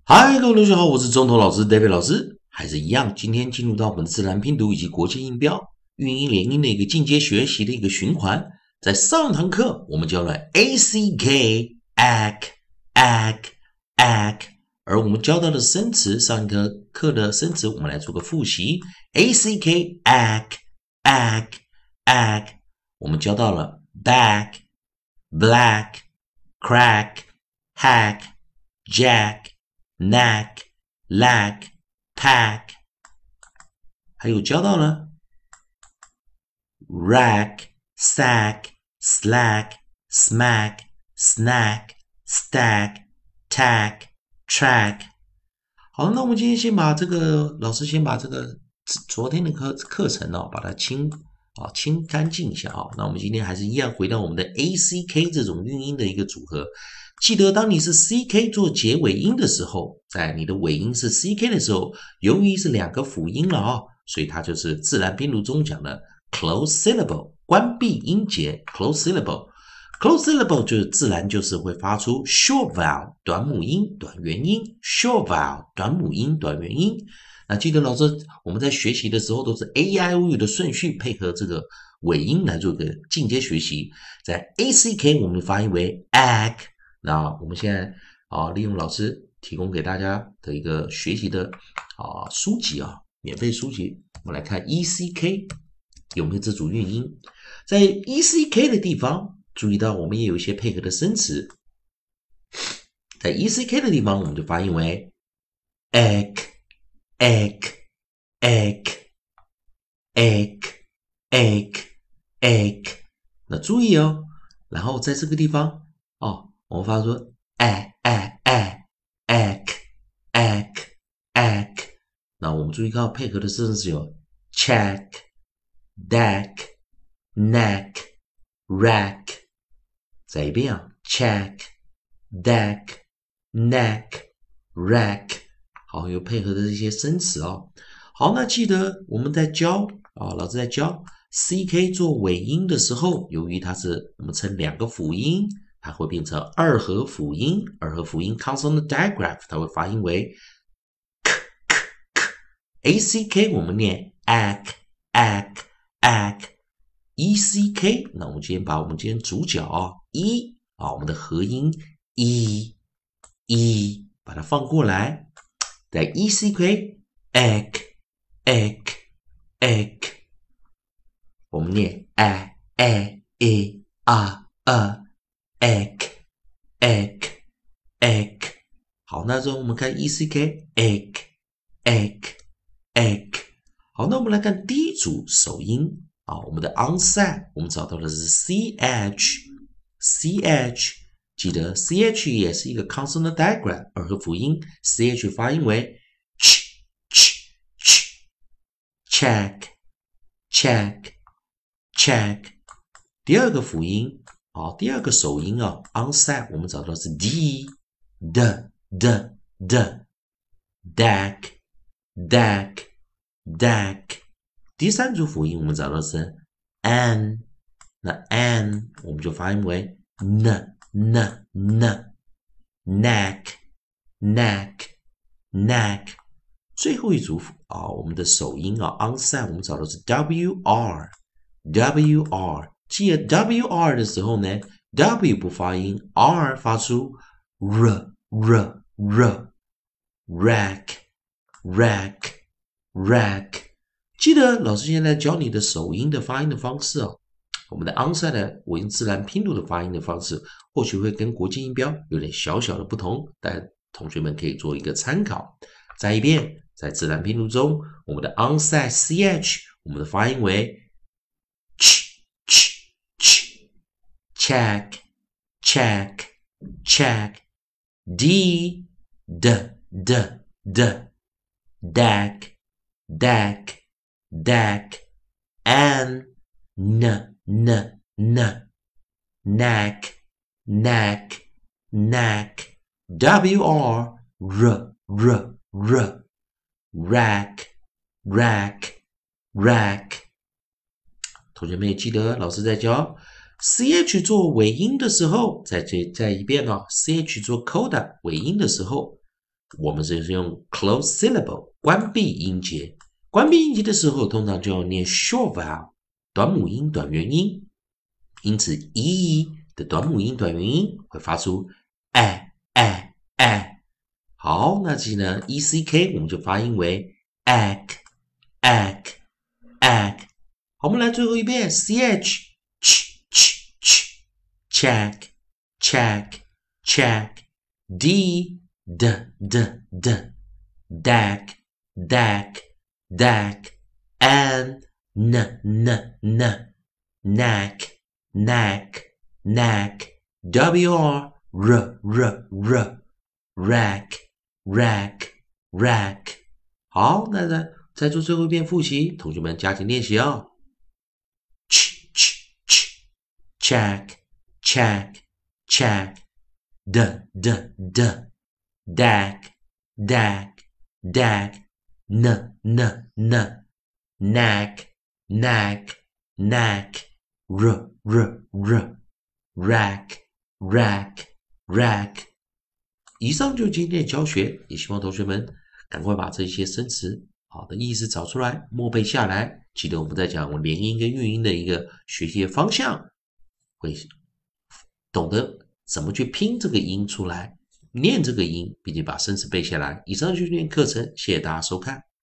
嗨，各位同学好，我是中头老师 David 老师，还是一样，今天进入到我们的自然拼读以及国际音标、韵音连音的一个进阶学习的一个循环。在上堂课我们教了 ack、ack，而我们教到的生词，上一课的生词，我们来做个复习。ack ack，我们教到了 back、black、crack、hack、jack、knack、lag、pack，还有教到了 rack、sack、slack、smack、stack、track。好，那我们今天先把这个老师先把这个昨天的课程把它清干净一下那我们今天还是一样回到我们的 ack 这种韵音的一个组合。记得当你是 ck 做结尾音的时候，在你的尾音是 ck 的时候，由于是两个辅音了所以它就是自然拼读中讲的 close syllable 关闭音节 close syllable。Close syllable 就是自然就是会发出 short vowel 短母音短元音 short vowel 短母音短元音。那记得老师我们在学习的时候都是 a i o u 的顺序配合这个尾音来做个进阶学习。在 ack 我们发音为 ack。那我们现在利用老师提供给大家的一个学习的书籍免费书籍，我们来看 eck 有没有这组韵音。在 eck 的地方注意到我们也有一些配合的生词，在 eck 的地方我们就发音为 egg。那注意然后在这个地方我们发出 egg。那我们注意看配合的生词有 check、deck、neck、rack。再一遍check、deck、neck、rack。好，有配合的这些生词好，那记得我们在教老师在教 ck 做尾音的时候，由于它是我们称两个辅音，它会变成二合辅音。二合辅音 consonant digraph 它会发音为 ack 我们念 ack。eck 那我们今天把我们今天主角我们的合音 e 把它放过来，在 eck egg 我们念 egg。好，那之后我们看 eck egg。好，那我们来看第一组首音我们的 onset 我们找到的是 ch。记得 ch 也是一个 consonant digraph 二合辅音 ch 发音为 check。第二个辅音第二个首音onset 我们找到是 d deck。第三组辅音我们找到是 n， 那 n 我们就发音为 neck。最后一组我们的首音onset 我们找到是 wr。记得 wr 的时候呢 w 不发音 r 发出 rack。记得老师现在教你的首音的发音的方式我们的 onset 的我用自然拼读的发音的方式或许会跟国际音标有点小小的不同，但同学们可以做一个参考。再一遍，在自然拼读中我们的 onset ch 我们的发音为 check。d deck。n neck。wr rack。同学们也记得老师在教 ch 做尾音的时候，再一遍ch 做 coda 尾音的时候， 我们是用 close syllable 关闭音节。关闭音节的时候，通常就要念 short vowel 短母音、短元音。因此 e 的短母音、短元音会发出好，那其实呢 eck 我们就发音为 egg。好，我们来最后一遍 ch check d dag n knack rack。好，那再做最后一遍复习，同学们加紧练习哦。check d dag n knack rack。以上就是今天的教学，也希望同学们赶快把这些生词好的意思找出来，默背下来。记得我们在讲连音跟韵音的一个学习方向，会懂得怎么去拼这个音出来，念这个音，并且把生词背下来。以上就是今天课程，谢谢大家收看。